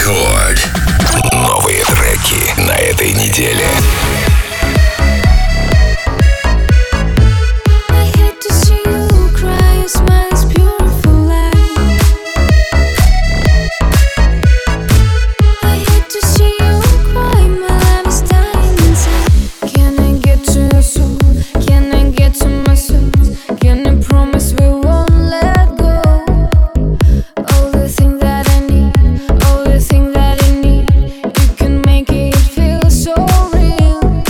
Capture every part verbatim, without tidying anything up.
Рекорд. Новые треки на этой неделе. All the things that I need, you can make it feel so real.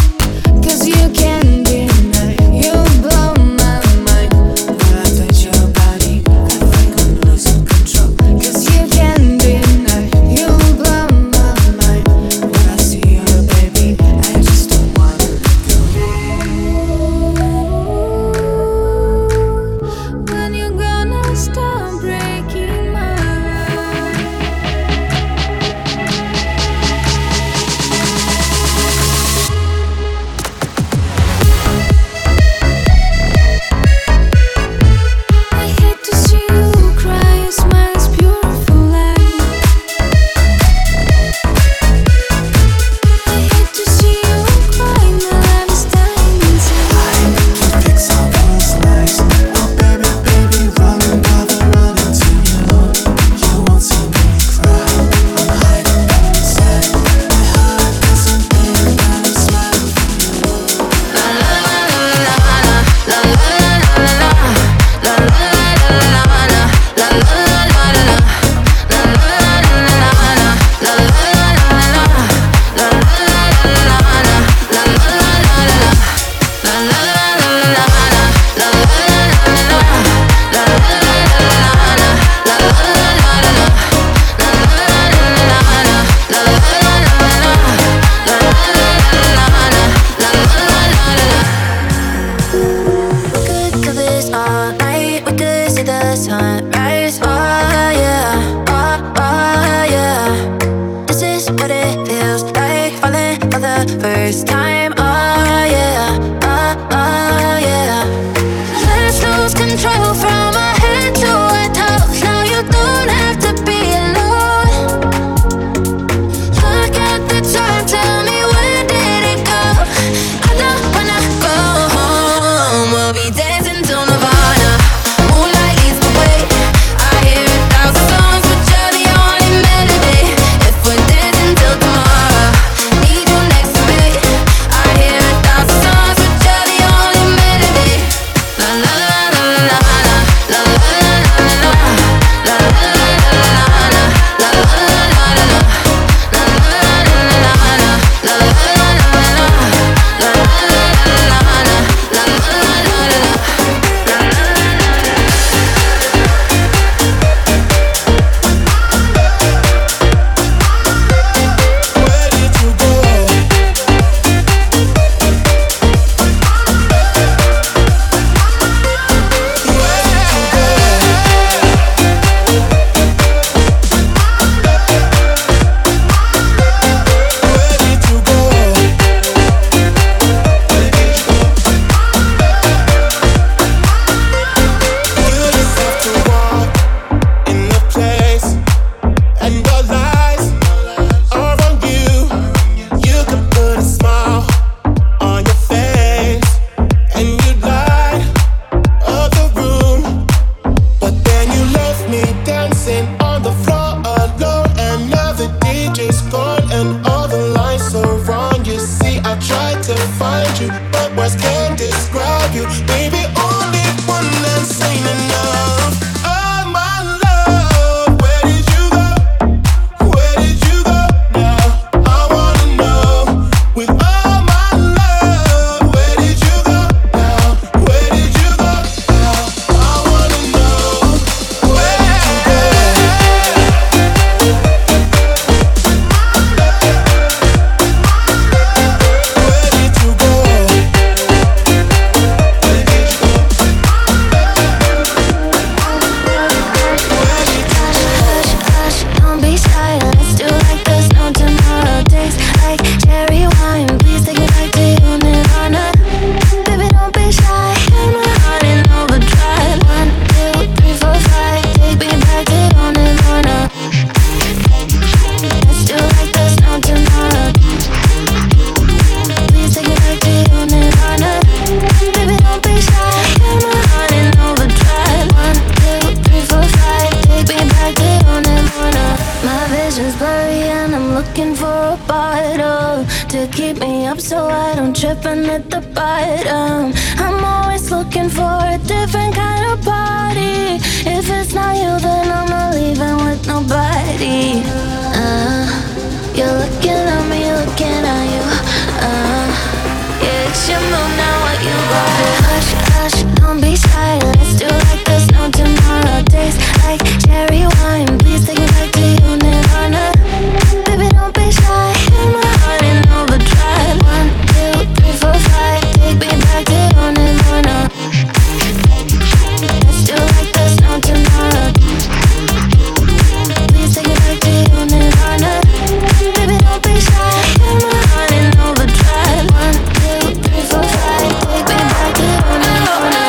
looking for a bottle to keep me up so I don't trip and hit the bottom. I'm always looking for a different kind of party. If it's not you, then I'm not leaving with nobody. Uh, you're looking at me, looking at you. Uh, yeah, it's your move now, what you got? Hush, hush, don't be shy. Let's do like there's no tomorrow. Tastes like cherry wine. Please take me back to you, Nirvana. Baby, don't be shy. Hit my heart in overdrive. One, two, three, four, five. Take me back to you, Nirvana. Let's do like there's no tomorrow. Please take me back to you, Nirvana. Baby, don't be shy. Hit my heart in overdrive. One, two, three, four, five. Take me back to you, Nirvana.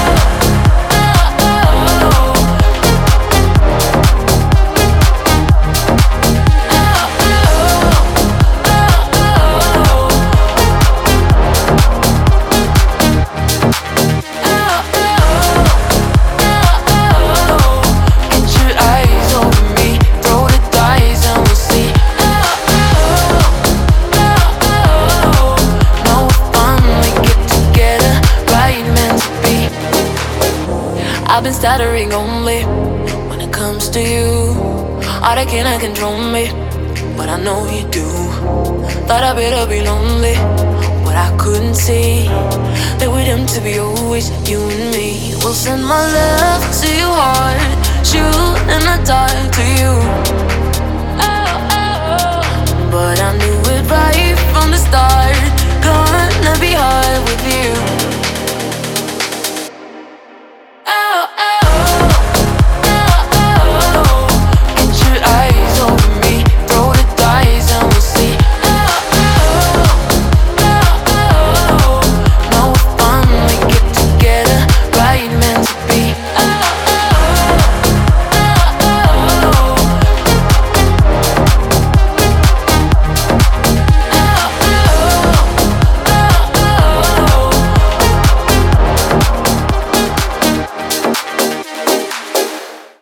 I've been stuttering only when it comes to you. All that cannot control me, but I know you do. Thought I better be lonely, but I couldn't see that we're doomed to be always you and me. We'll send my love to your heart, shoot in the dark to you.